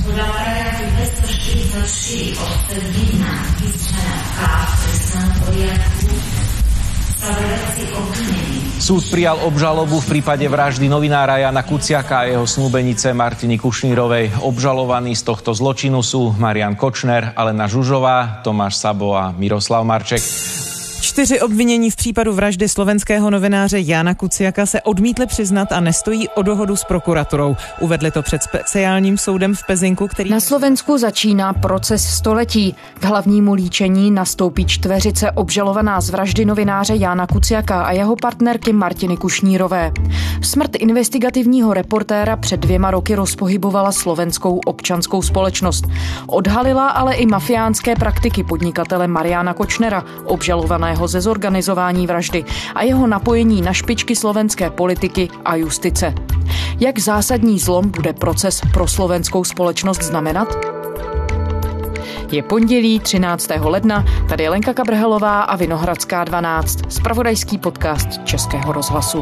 Podľa paragrafu 244 odsek 1 písmena K v trestnom poriadku sa v veci obvinení. Súd prijal obžalobu v prípade vraždy novinára Jána Kuciaka a jeho snúbenice Martiny Kušnírovej. Obžalovaní z tohto zločinu sú Marian Kočner, Alena Žužová, Tomáš Sabo a Miroslav Marček. 4 obvinění v případu vraždy slovenského novináře Jána Kuciaka se odmítli přiznat a nestojí o dohodu s prokuraturou. Uvedli to před speciálním soudem v Pezinku, který... Na Slovensku začíná proces století. K hlavnímu líčení nastoupí čtveřice obžalovaná z vraždy novináře Jána Kuciaka a jeho partnerky Martiny Kušnírové. Smrt investigativního reportéra před 2 roky rozpohybovala slovenskou občanskou společnost. Odhalila ale i mafiánské praktiky podnikatele Mariana Kočnera, obžalovaného ze zorganizování vraždy a jeho napojení na špičky slovenské politiky a justice. Jak zásadní zlom bude proces pro slovenskou společnost znamenat? Je pondělí 13. ledna, tady je Lenka Kabrhelová a Vinohradská 12, zpravodajský podcast Českého rozhlasu.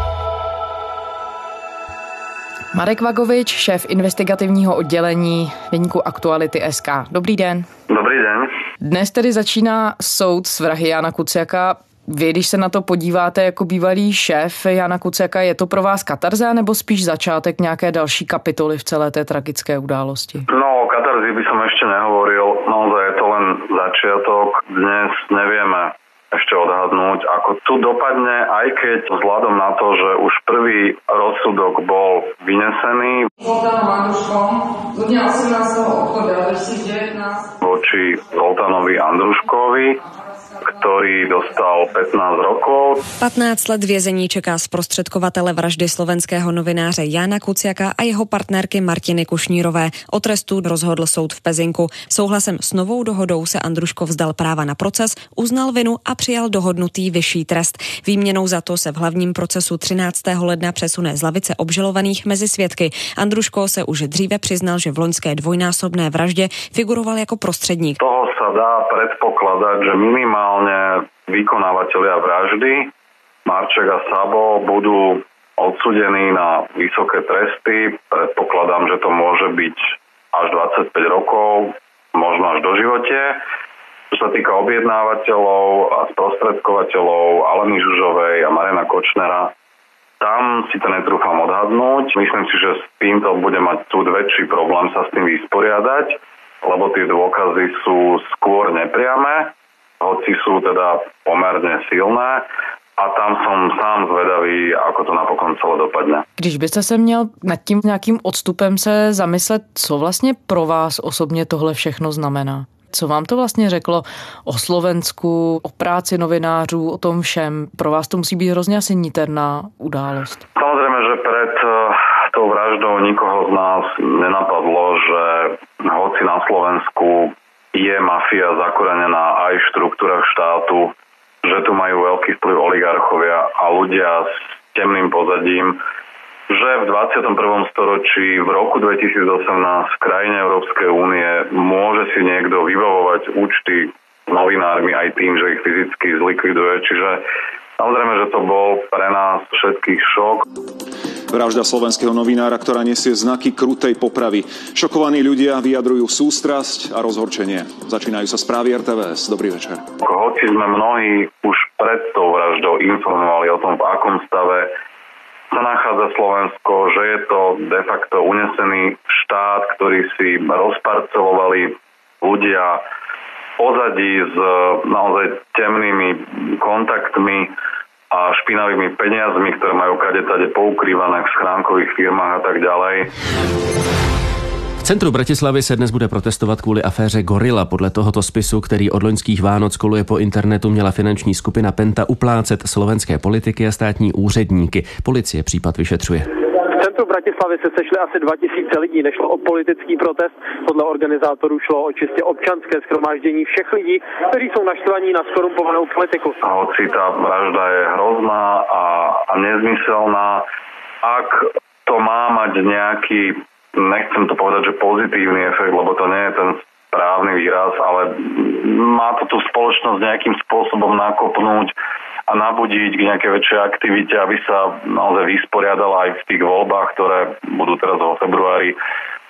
Marek Vagovič, šéf investigativního oddělení deníku Aktuality.sk. Dobrý den. Dobrý den. Dnes tedy začíná soud s vrahy Jána Kuciaka. Vy, když se na to podíváte jako bývalý šéf Jána Kuciaka, je to pro vás katarza nebo spíš začátek nějaké další kapitoly v celé té tragické události? No, o katarzi by som ešte nehovoril. Naozaj je to len začiatok. Dnes nevieme ešte odhadnúť, ako tu dopadne, aj keď vzhľadom na to, že už prvý rozsudok bol vynesený voči Zoltánovi Andruškovi, ktorý dostal 15 rokov. 15 let vězení čeká zprostředkovatele vraždy slovenského novináře Jána Kuciaka a jeho partnerky Martiny Kušnírové. O trestu rozhodl soud v Pezinku. Souhlasem s novou dohodou se Andruško vzdal práva na proces, uznal vinu a přijal dohodnutý vyšší trest. Výměnou za to se v hlavním procesu 13. ledna přesune z lavice obžalovaných mezi svědky. Andruško se už dříve přiznal, že v loňské dvojnásobné vraždě figuroval jako prostředník. Toho sa dá predpokladať, že minimálne vykonávatelia vraždy Marček a Sabo budú odsúdení na vysoké tresty. Predpokladám, že to môže byť až 25 rokov, možno až do živote. Čo sa týka objednávateľov a sprostredkovateľov Aleny Žužovej a Mariana Kočnera, tam si to netrúfam odhadnúť. Myslím si, že s týmto bude mať súd väčší problém sa s tým vysporiadať, lebo tie dôkazy sú skôr nepriame, hoci sú teda pomerne silné. A tam som sám zvedavý, ako to napokon celé dopadne. Když byste se měl nad tím nějakým odstupem se zamyslet, co vlastně pro vás osobně tohle všechno znamená? Co vám to vlastně řeklo o Slovensku, o práci novinářů, o tom všem? Pro vás to musí být hrozně asi niterná událost. Samozrejme, že pred tou vraždou nikoho z nás nenapadlo, že hoci na Slovensku je mafia zakorenená aj v štruktúrach štátu, že tu majú veľký vplyv oligarchovia a ľudia s temným pozadím, že v 21. storočí v roku 2018 v krajine Európskej únie môže si niekto vybavovať účty s novinármi aj tým, že ich fyzicky zlikviduje. Čiže samozrejme, že to bol pre nás všetkých šok. Vražda slovenského novinára, ktorá nesie znaky krutej popravy. Šokovaní ľudia vyjadrujú sústrasť a rozhorčenie. Začínajú sa správy RTVS. Dobrý večer. Hoci sme mnohí už pred tou vraždou informovali o tom, v akom stave sa nachádza Slovensko, že je to de facto unesený štát, ktorý si rozparcelovali ľudia v pozadí s naozaj temnými kontaktmi a špinavými peniazmi, ktoré majú kadetade poukrývané v schránkových firmách a tak ďalej. V centru Bratislavy se dnes bude protestovat kvůli aféře Gorila. Podle tohoto spisu, který od loňských Vánoc koluje po internetu, měla finanční skupina Penta uplácet slovenské politiky a státní úředníky. Policie případ vyšetřuje. V centru Bratislavy se sešli asi 2000 lidí. Nešlo o politický protest, podle organizátorů šlo o čistě občanské shromáždění všech lidí, kteří jsou naštvaní na skorumpovanou politiku. A hoci tá vražda je hrozná a nezmyselná, ak to má mať nejaký, nechcem to povedať, že pozitívny efekt, lebo to nie je ten správny výraz, ale má to tú spoločnosť nejakým spôsobom nakopnúť a nabudiť k nejakej väčšej aktivite, aby sa naozaj vysporiadala aj v tých voľbách, ktoré budú teraz vo februári,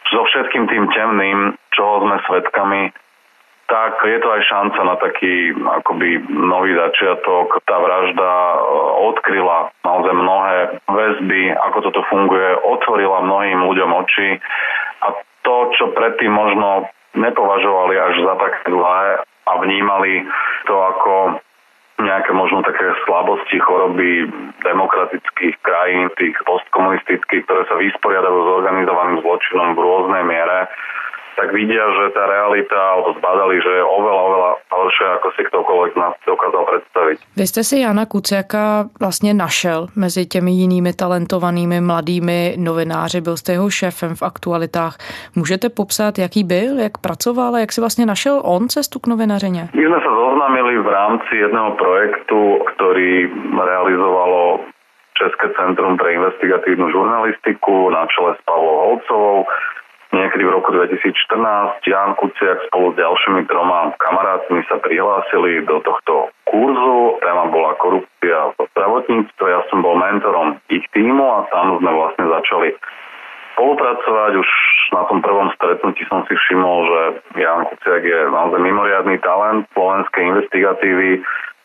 so všetkým tým temným, čoho sme svedkami, tak je to aj šanca na taký akoby nový začiatok. Tá vražda odkryla naozaj mnohé väzby, ako toto funguje, otvorila mnohým ľuďom oči a to, čo predtým možno nepovažovali až za také zlé a vnímali to ako nejaké možno také slabosti, choroby demokratických krajín, tých postkomunistických, ktoré sa vysporiadajú s organizovaným zločinom v rôznej miere, tak vidia, že tá realita, alebo zbadali, že je oveľa horšia, ako si ktokoľvek nás dokázal predstaviť. Vy jste si Jana Kuciaka vlastně našel mezi těmi jinými talentovanými mladými novináři, byl jste jeho šéfem v Aktualitách. Můžete popsat, jaký byl, jak pracoval a jak si vlastně našel on cestu k novinařině? My sme sa zoznámili v rámci jedného projektu, ktorý realizovalo České centrum pre investigatívnu žurnalistiku na čele s Pavlou Holcovou. Niekedy v roku 2014 Ján Kuciak spolu s ďalšími 3 kamarátmi sa prihlásili do tohto kurzu. Téma bola korupcia v zdravotníctve. Ja som bol mentorom ich tímu a tam sme vlastne začali spolupracovať. Už na tom prvom stretnutí som si všimol, že Ján Kuciak je naozaj mimoriadny talent slovenskej investigatívy.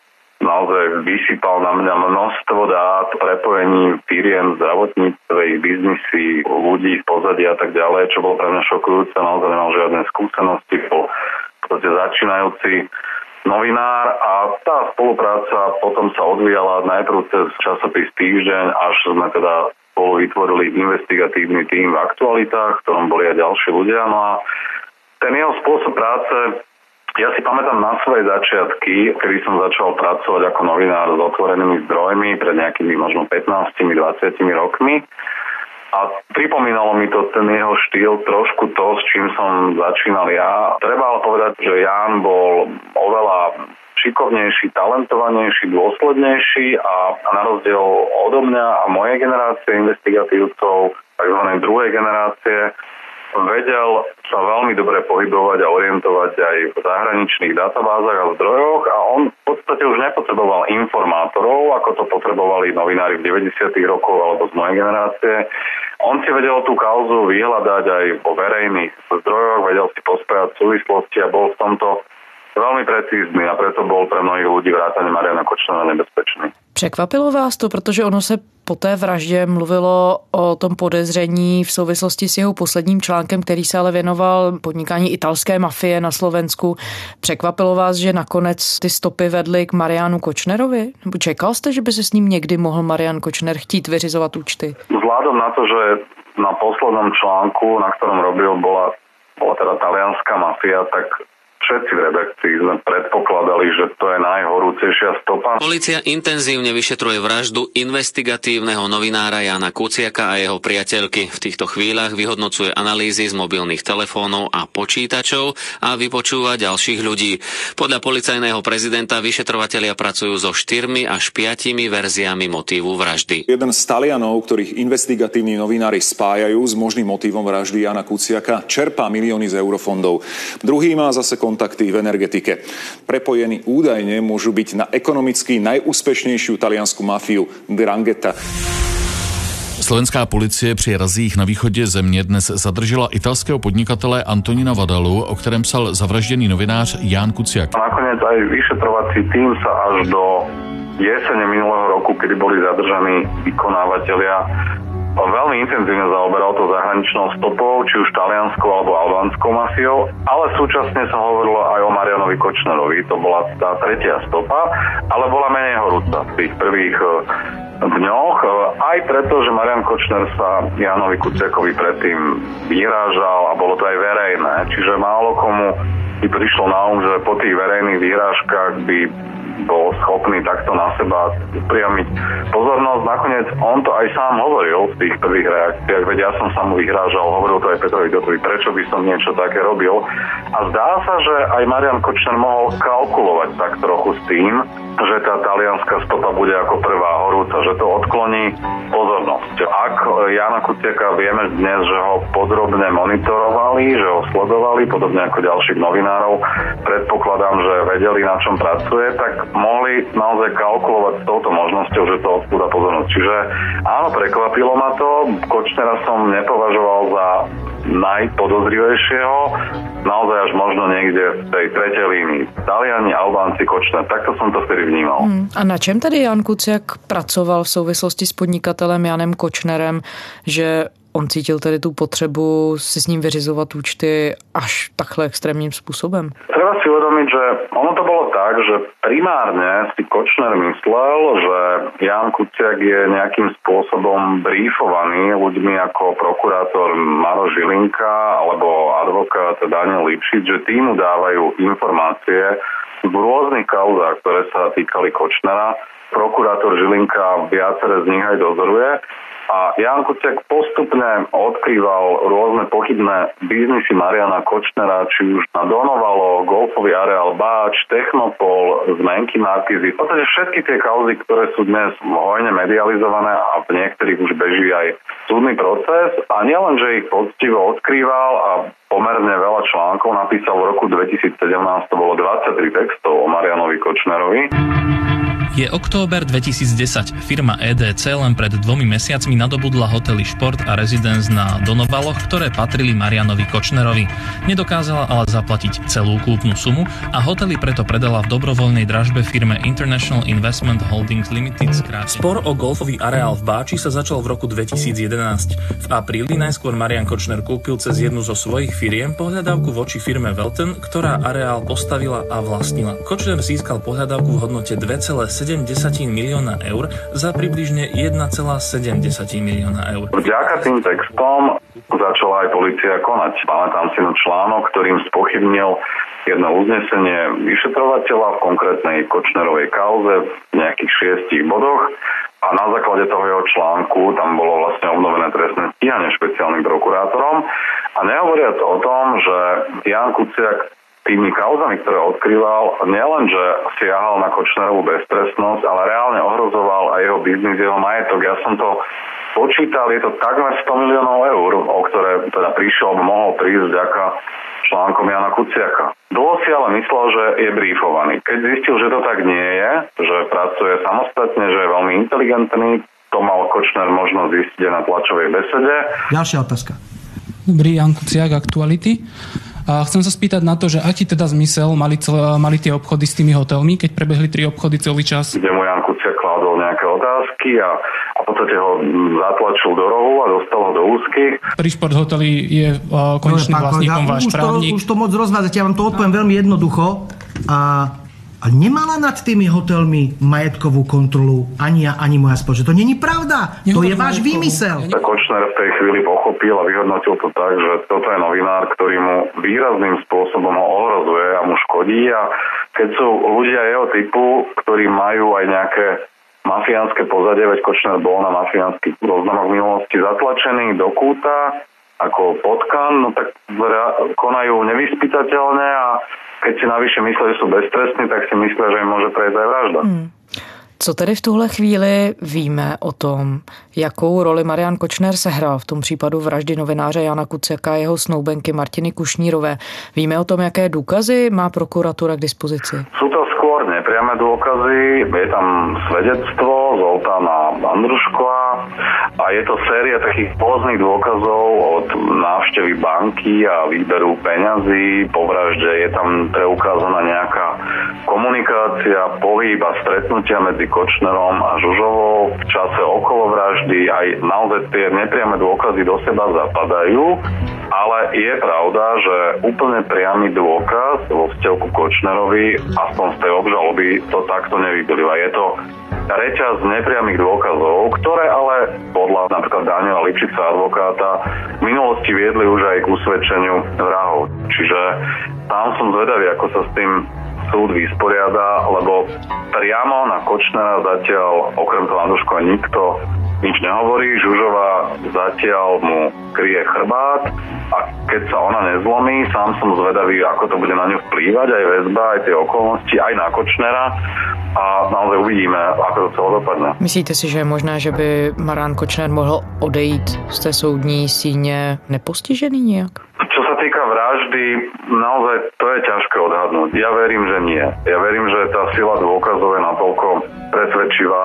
Naozaj vysypal na mňa množstvo dát, prepojení firiem, zdravotníctve, biznisy, ľudí v pozadí a tak ďalej, čo bolo pre mňa šokujúce. Naozaj nemal žiadne skúsenosti, bol v podstate začínajúci novinár a tá spolupráca potom sa odvíjala najprv cez časopis Týždeň, až sme teda spolu vytvorili investigatívny tím v Aktualitách, v ktorom boli aj ďalší ľudia. No a ten jeho spôsob práce, ja si pamätám na svoje začiatky, kedy som začal pracovať ako novinár s otvorenými zdrojmi pred nejakými možno 15-20 rokmi. A pripomínalo mi to ten jeho štýl trošku to, s čím som začínal ja. Treba ale povedať, že Ján bol oveľa šikovnejší, talentovanejší, dôslednejší a na rozdiel odo mňa a mojej generácie investigatívcov, takzvanej druhej generácie, vedel sa veľmi dobre pohybovať a orientovať aj v zahraničných databázach a zdrojoch a on v podstate už nepotreboval informátorov, ako to potrebovali novinári v 90. rokoch alebo z mojej generácie. On si vedel tú kauzu vyhľadať aj vo verejných zdrojoch, vedel si pospájať súvislosti a bol v tomto veľmi precízny a preto bol pre mnohých ľudí vrátane Mariana Kočnera nebezpečný. Překvapilo vás to, protože ono se po té vraždě mluvilo o tom podezření v souvislosti s jeho posledním článkem, který se ale věnoval podnikání italské mafie na Slovensku. Překvapilo vás, že nakonec ty stopy vedly k Marianu Kočnerovi? Nebo čekal jste, že by se s ním někdy mohl Marian Kočner chtít vyřizovat účty? Vzhľadom na to, že na poslednom článku, na ktorom robil, bola teda talianská mafia, tak všetci v redakcii sme predpokladali, že to je najhorúcejšia stopa. Polícia intenzívne vyšetruje vraždu investigatívneho novinára Jána Kuciaka a jeho priateľky. V týchto chvíľach vyhodnocuje analýzy z mobilných telefónov a počítačov a vypočúva ďalších ľudí. Podľa policajného prezidenta vyšetrovatelia pracujú so 4 až 5 verziami motívu vraždy. Jeden z Talianov, ktorých investigatívni novinári spájajú s možným motívom vraždy Jána Kuciaka, čerpá milióny z eurofondov. Druhý má zase kontakty v energetike. Prepojení údajne môžu byť na ekonomicky najúspešnejšiu taliansku mafiu 'Ndrangheta. Slovenská policie při razích na východě země dnes zadržela italského podnikatele Antonina Vadalu, o kterém psal zavražděný novinář Ján Kuciak. Nakoniec aj vyšetrovací tím sa až do jesene minulého roku, kedy boli zadržaní vykonávatelia, veľmi intenzívne zaoberal to zahraničnou stopou, či už talianskou alebo albánskou mafiou, ale súčasne sa hovorilo aj o Marianovi Kočnerovi. To bola tá tretia stopa, ale bola menej horúca v tých prvých dňoch. Aj preto, že Marian Kočner sa Jánovi Kuciakovi predtým vyhrážal a bolo to aj verejné. Čiže málo komu by prišlo na že po tých verejných vyhrážkach by bol schopný takto na seba upriamiť pozornosť. Nakoniec on to aj sám hovoril v tých prvých reakciách, veď ja som sa mu vyhrážal, hovoril to aj Petrovi Dotovi, prečo by som niečo také robil. A zdá sa, že aj Marian Kočner mohol kalkulovať tak trochu s tým, že tá talianská stopa bude ako prvá horúca, že to odkloní pozornosť. Ak Jána Kuciaka vieme dnes, že ho podrobne monitorovali, že ho sledovali, podobne ako ďalších novinárov, predpokladám, že vedeli, na čom pracuje, tak mohli naozaj kalkulovať s touto možnosťou, že to odpúda pozornosť. Čiže áno, prekvapilo ma to. Kočnera som nepovažoval za najpodozrivejšieho, naozaj až možno niekde v tej tretej línii. Taliani, Albánci, Kočner, takto som to vtedy vnímal. A na čem tedy Jan Kuciak pracoval v souvislosti s podnikatelem Janem Kočnerem, že on cítil tedy tu potřebu si s ním vyřizovat účty až takhle extrémním způsobem? Treba si uvedomiť, že ono to bolo tak, že primárne si Kočner myslel, že Jan Kuciak je nejakým spôsobom brífovaný ľuďmi ako prokurátor Maro Žilinka alebo advokát Daniel Lipšic, že tí mu dávajú informácie v rôznych kauzách, ktoré sa týkali Kočnera. Prokurátor Žilinka viaceré z nich aj dozoruje. A Jan Kuciak postupne odkrýval rôzne pochybné biznisy Mariana Kočnera, či už na Donovalo, golfový areál Báč, Technopol, zmenky Markízy. V podstate všetky tie kauzy, ktoré sú dnes hojne medializované a v niektorých už beží aj súdny proces. A nielen, že ich poctivo odkrýval a pomerne veľa článkov napísal v roku 2017, to bolo 23 textov o Marianovi Kočnerovi. Je október 2010. Firma EDC len pred 2 mesiacmi nadobudla hotely Šport a Residence na Donovaloch, ktoré patrili Marianovi Kočnerovi. Nedokázala ale zaplatiť celú kúpnu sumu a hotely preto predala v dobrovoľnej dražbe firme International Investment Holdings Limited. Spor o golfový areál v Báči sa začal v roku 2011. V apríli najskôr Marian Kočner kúpil cez jednu zo svojich firiem pohľadávku voči firme Welton, ktorá areál postavila a vlastnila. Kočner získal pohľadávku v hodnote 2,7 milióna eur za približne 1,7 milióna eur. Vďaka tým textom začala aj polícia konať. Pamätám si na článok, ktorým spochybnil jedno uznesenie vyšetrovateľa v konkrétnej Kočnerovej kauze v nejakých 6 bodoch. A na základe toho jeho článku tam bolo vlastne obnovené trestné stíhanie špeciálnym prokurátorom. A nehovoriac o tom, že Jan Kuciak tými kauzami, ktoré odkrýval, nielen, že siahal na Kočnerovú beztrestnosť, ale reálne ohrozoval aj jeho biznis, jeho majetok. Ja som to počítal, je to takmer 100 miliónov eur, o ktoré teda prišiel, mohol prísť vďaka článkom Jana Kuciaka. Dlho si ale myslel, že je brífovaný. Keď zistil, že to tak nie je, že pracuje samostatne, že je veľmi inteligentný, to mal Kočner možno zistiť na tlačovej besede. Ďalšia otázka. Dobrý, Jan Kuciak, Aktuality. A chcem sa spýtať na to, že aký teda zmysel mali tie obchody s tými hotelmi, keď prebehli 3 obchody celý čas? Kde mu Jan Kuciak kládol nejaké otázky a v podstate ho zatlačil do rohu a dostal ho do úzkých. Pri Šport hoteli je konečným vlastníkom váš právnik. Už to moc rozvádzate, ja vám to odpoviem veľmi jednoducho. A nemala nad tými hotelmi majetkovú kontrolu ani ja, ani moja spoločnosť. To není pravda. To je váš výmysel. Kočner v tej chvíli pochopil a vyhodnotil to tak, že toto je novinár, ktorý mu výrazným spôsobom ho ohrozuje a mu škodí. A keď sú ľudia jeho typu, ktorí majú aj nejaké mafiánske pozadie, veď Kočner bol na mafiánskych zoznamoch v minulosti zatlačený do kúta ako potkan, no tak konajú nevyspytateľne a keď si navyše myslia, že sú beztrestní, tak si myslia, že im môže prejsť aj vražda. Co tedy v tuhle chvíli víme o tom, jakou roli Marian Kočner sehrál v tom případu vraždy novináře Jana Kuciaka a jeho snoubenky Martiny Kušnírové? Víme o tom, jaké důkazy má prokuratura k dispozici? Sú to skôr nepriame dôkazy, je tam svedectvo Zoltána Andruškova a je to séria takých rôznych dôkazov od návštevy banky a výberu peňazí. Po vražde je tam preukázaná nejaká komunikácia, pohyb a stretnutia medzi Kočnerom a Žužovou v čase okolo vraždy. Aj naozaj tie nepriame dôkazy do seba zapadajú, ale je pravda, že úplne priamy dôkaz vo vzťahu ku Kočnerovi, aspoň z tej obžaloby, to takto nevyplýva. Je to reťaz nepriamých dôkazov, ktoré ale podľa napríklad Daniela Lipšica, advokáta, v minulosti viedli už aj k usvedčeniu vrahov. Čiže tam som zvedavý, ako sa s tým súd vysporiada, lebo priamo na Kočnera zatiaľ, okrem toho Andruškova, nikto nič nehovorí. Žužová zatiaľ mu kryje chrbát a keď sa ona nezlomí, sám som zvedavý, ako to bude na ňu vplývať, aj väzba, aj tie okolnosti, aj na Kočnera a naozaj uvidíme, ako to celé dopadne. Myslíte si, že je možné, že by Marian Kočner mohl odejít z té soudní síně nepostižený nejak? Čo sa týka vraždy, naozaj to je ťažké odhadnúť. Ja verím, že nie. Ja verím, že tá sila dôkazov je natoľko presvedčivá,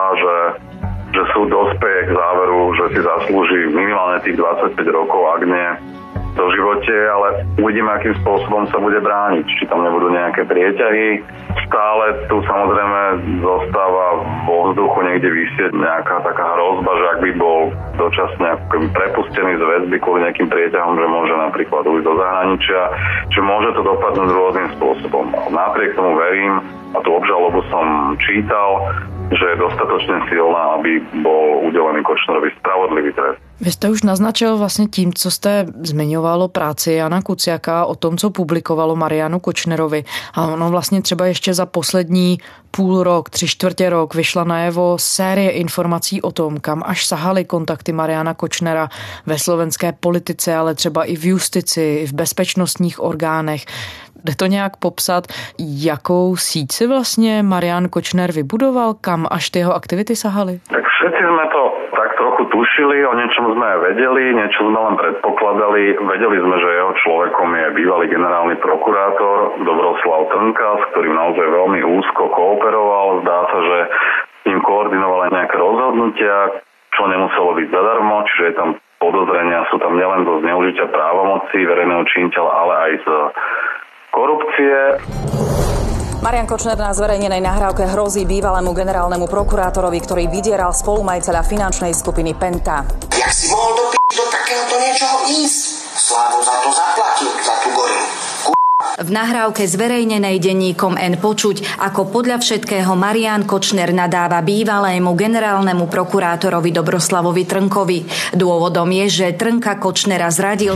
že súd dospeje k záveru, že si zaslúži minimálne tých 25 rokov, ak nie doživote, ale uvidíme, akým spôsobom sa bude brániť. Či tam nebudú nejaké prieťahy. Stále tu samozrejme zostáva vo vzduchu niekde visieť nejaká taká hrozba, že ak by bol dočasne prepustený z väzby kvôli nejakým prieťahom, že môže napríklad ujsť do zahraničia, že môže to dopadnúť rôznym spôsobom. Napriek tomu verím, a tú obžalobu som čítal, že je dostatočne silná, aby bol udelený Kočnerovi spravodlivý trest. Vy jste už naznačil vlastně tím, co jste zmiňoval o práci Jana Kuciaka, o tom, co publikovalo Marianu Kočnerovi. A ono vlastně třeba ještě za poslední půl rok, 3/4 rok vyšla najevo série informací o tom, kam až sahaly kontakty Mariana Kočnera ve slovenské politice, ale třeba i v justici, i v bezpečnostních orgánech. Jde to nějak popsat, jakou síť si vlastně Marian Kočner vybudoval, kam až ty jeho aktivity sahaly? Tak všetci sme to tak trochu tušili, o niečom sme aj vedeli, niečo sme len predpokladali. Vedeli sme, že jeho človekom je bývalý generálny prokurátor Dobroslav Trnka, s ktorým naozaj veľmi úzko kooperoval. Zdá sa, že s ním koordinoval aj nejaké rozhodnutia, čo nemuselo byť zadarmo, čiže je tam podozrenia, sú tam nielen zo zneužitia právomoci verejného činiteľa, ale aj z korupcie. Marian Kočner na zverejnenej nahrávke hrozí bývalému generálnemu prokurátorovi, ktorý vydieral spolumajiteľa finančnej skupiny Penta. Jak si mohol do takéhoto niečoho ísť? Slávo za to zaplatil, za tú gorilu. V nahrávke zverejnenej denníkom N počuť, ako podľa všetkého Marian Kočner nadáva bývalému generálnemu prokurátorovi Dobroslavovi Trnkovi. Dôvodom je, že Trnka Kočnera zradil.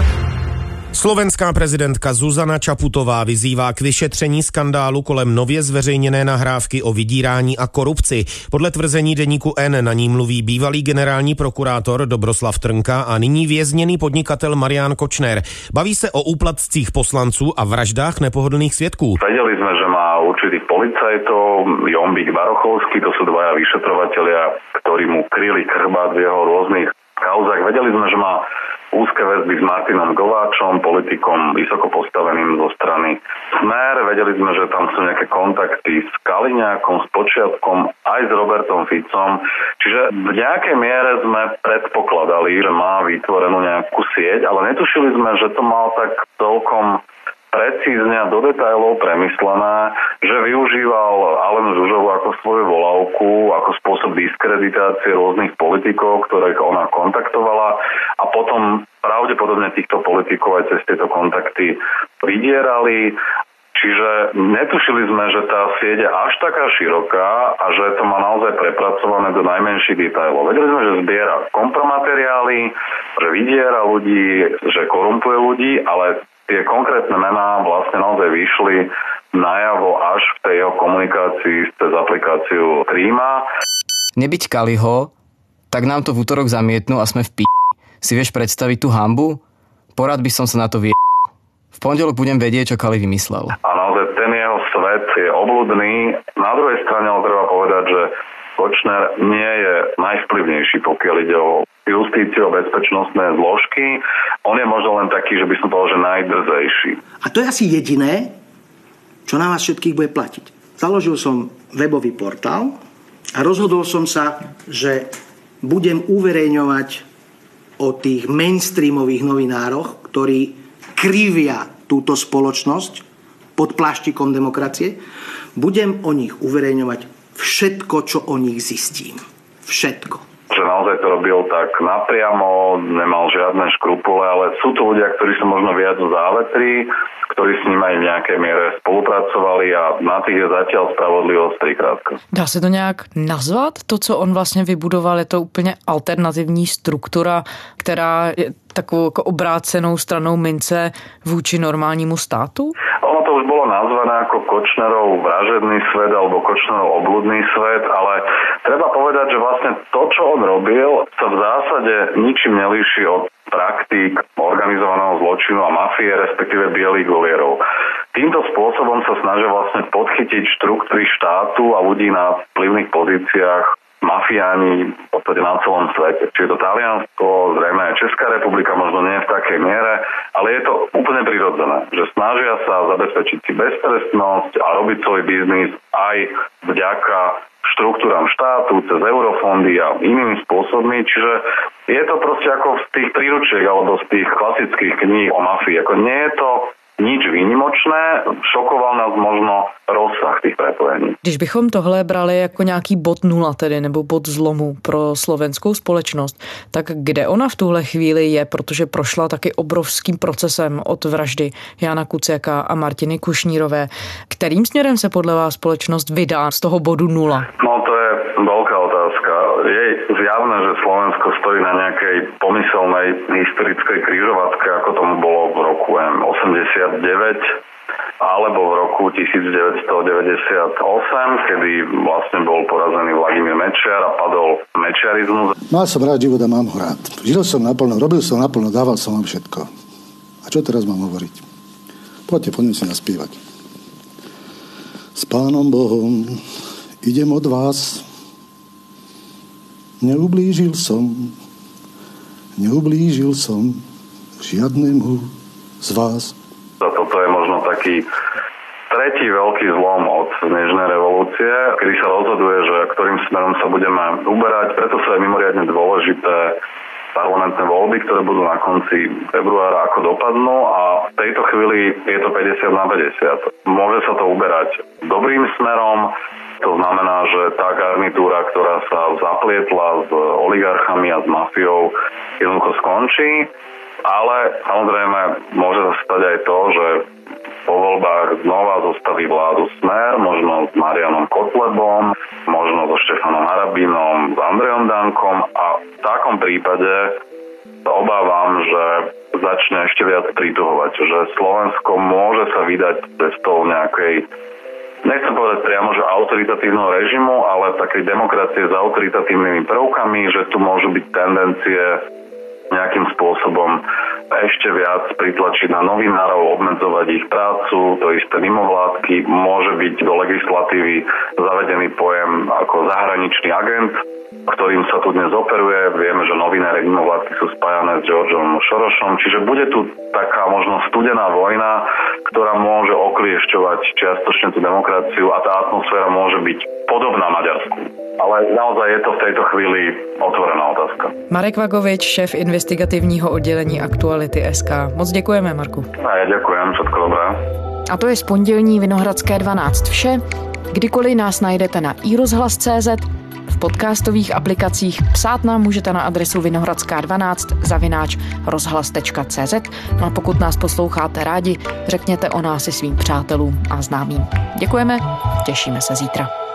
Slovenská prezidentka Zuzana Čaputová vyzývá k vyšetření skandálu kolem nově zveřejněné nahrávky o vydírání a korupci. Podle tvrzení deníku N na ní mluví bývalý generální prokurátor Dobroslav Trnka a nyní vězněný podnikatel Marian Kočner. Baví se o úplatcích poslanců a vraždách nepohodlných svědků. Vedeli sme, že má určitých policajtov, Jombík, Barochovský, to sú dvaja vyšetrovatelia, ktorí mu kryli chrbát v jeho rôznych kauzách. Vedeli sme, že má úzke väzby s Martinom Gováčom, politikom vysoko postaveným zo strany Smer. Vedeli sme, že tam sú nejaké kontakty s Kaliňákom, s Počiatkom, aj s Robertom Ficom. Čiže v nejakej miere sme predpokladali, že má vytvorenú nejakú sieť, ale netušili sme, že to mal tak celkom precízne a do detailov premyslené, že využíval Alenu Žužovu ako svoju volávku, ako spôsob diskreditácie rôznych politikov, ktorých ona kontaktovala a potom pravdepodobne týchto politikov aj cez tieto kontakty vydierali. Čiže netušili sme, že tá sieť je až taká široká a že to má naozaj prepracované do najmenších detailov. Vedeli sme, že zbiera kompromateriály, že vydiera ľudí, že korumpuje ľudí, ale tie konkrétne mená vlastne naozaj vyšli najavo až v tej jeho komunikácii cez aplikáciu Tríma. Nebyť Kaliho, tak nám to v útorok zamietnú a sme v p***. Si vieš predstaviť tú hanbu? Porad by som sa na to V pondelok budem vedieť, čo Kali vymyslel. A naozaj ten jeho svet je obľudný. Na druhej strane ale treba povedať, že Kočner nie je najvplyvnejší, pokiaľ ide o justíciu, bezpečnostné zložky. On je možno len taký, že by som povedal, že najdrzejší. A to je asi jediné, čo na vás všetkých bude platiť. Založil som webový portál a rozhodol som sa, že budem uverejňovať o tých mainstreamových novinároch, ktorí krivia túto spoločnosť pod pláštikom demokracie. Budem o nich uverejňovať všetko, čo o nich zistím. Všetko. Že naozaj to robil tak napriamo, nemal žiadne škrupule, ale sú to ľudia, ktorí sú možno viac závetrí, ktorí s ním aj v nejakej miere spolupracovali a na tých je zatiaľ spravodlivosť trikrátka. Dá se to nějak nazvat? To, co on vlastně vybudoval, je to úplně alternativní struktura, která je takovou jako obrácenou stranou mince vůči normálnímu státu? Ono to už bolo nazvané ako Kočnerov vražedný svet alebo Kočnerov obľudný svet, ale treba povedať, že vlastne to, čo on robil, sa v zásade ničím nelíši od praktík organizovaného zločinu a mafie, respektíve bielých golierov. Týmto spôsobom sa snažia vlastne podchytiť štruktúry štátu a ľudí na vplyvných pozíciách, mafiáni v podstate na celom svete. Čiže to Taliansko, zrejme aj Česká republika, možno nie v takej miere, ale je to úplne prirodzené, že snažia sa zabezpečiť si beztrestnosť a robiť svoj biznis aj vďaka štruktúram štátu, cez eurofondy a inými spôsobmi, čiže je to proste ako z tých príručiek alebo z tých klasických kníh o mafii. Ako nie je to nič výnimočné, šokoval nás možno rozsah těch prepojení. Když bychom tohle brali jako nějaký bod nula tedy, nebo bod zlomu pro slovenskou společnost, tak kde ona v tuhle chvíli je, protože prošla taky obrovským procesem od vraždy Jána Kuciaka a Martiny Kušnírové. Kterým směrem se podle vás společnost vydá z toho bodu nula? No to je veľká otázka. Je zjavné, že Slovensko stojí na nejakej pomyselnej historickej križovatke, ako tomu bolo v roku 89 alebo v roku 1998, kedy vlastne bol porazený Vladimír Mečiar a padol mečiarizmus. Mal som rád život a mám ho rád. Žil som naplno, robil som naplno, dával som vám všetko. A čo teraz mám hovoriť? Poďte, poďme si naspievať. S Pánom Bohom idem od vás. Neublížil som žiadnemu z vás. Toto je možno taký tretí veľký zlom od Nežnej revolúcie, kedy sa rozhoduje, že ktorým smerom sa budeme uberať. Preto sú aj mimoriadne dôležité parlamentné voľby, ktoré budú na konci februára, ako dopadnú, a v tejto chvíli je to 50/50. Môže sa to uberať dobrým smerom. To znamená, že tá garnitúra, ktorá sa zaplietla s oligarchami a s mafiou, jednoducho skončí. Ale samozrejme môže sa stať aj to, že po voľbách znova zostaví vládu Smer, možno s Marianom Kotlebom, možno so Štefanom Harabinom, s Andrejom Dankom, a v takom prípade sa obávam, že začne ešte viac prituhovať, že Slovensko môže sa vydať cestou nejakej, nechcem povedať priamo, že autoritatívneho režimu, ale takej demokracie s autoritatívnymi prvkami, že tu môžu byť tendencie nejakým spôsobom ešte viac pritlačiť na novinárov, obmedzovať ich prácu, to isté mimovládky, môže byť do legislatívy zavedený pojem ako zahraničný agent, ktorým sa tu dnes operuje. Vieme, že novinári mimovládky sú spájané s Georgeom Sorosom, čiže bude tu taká možno studená vojna, ktorá môže okliešťovať čiastočne tú demokraciu, a tá atmosféra môže byť podobná Maďarsku. Ale naozaj je to v tejto chvíli otvorená otázka. Marek Vagovič, šéf investigativního oddělení Aktuality SK. Moc děkujeme, Marku. A já děkujem, všetko dobré. A to je z pondělní Vinohradské 12 vše. Kdykoliv nás najdete na iRozhlas.cz, v podcastových aplikacích, psát nám můžete na adresu vinohradská12@rozhlas.cz. No a pokud nás posloucháte rádi, řekněte o nás i svým přátelům a známým. Děkujeme, těšíme se zítra.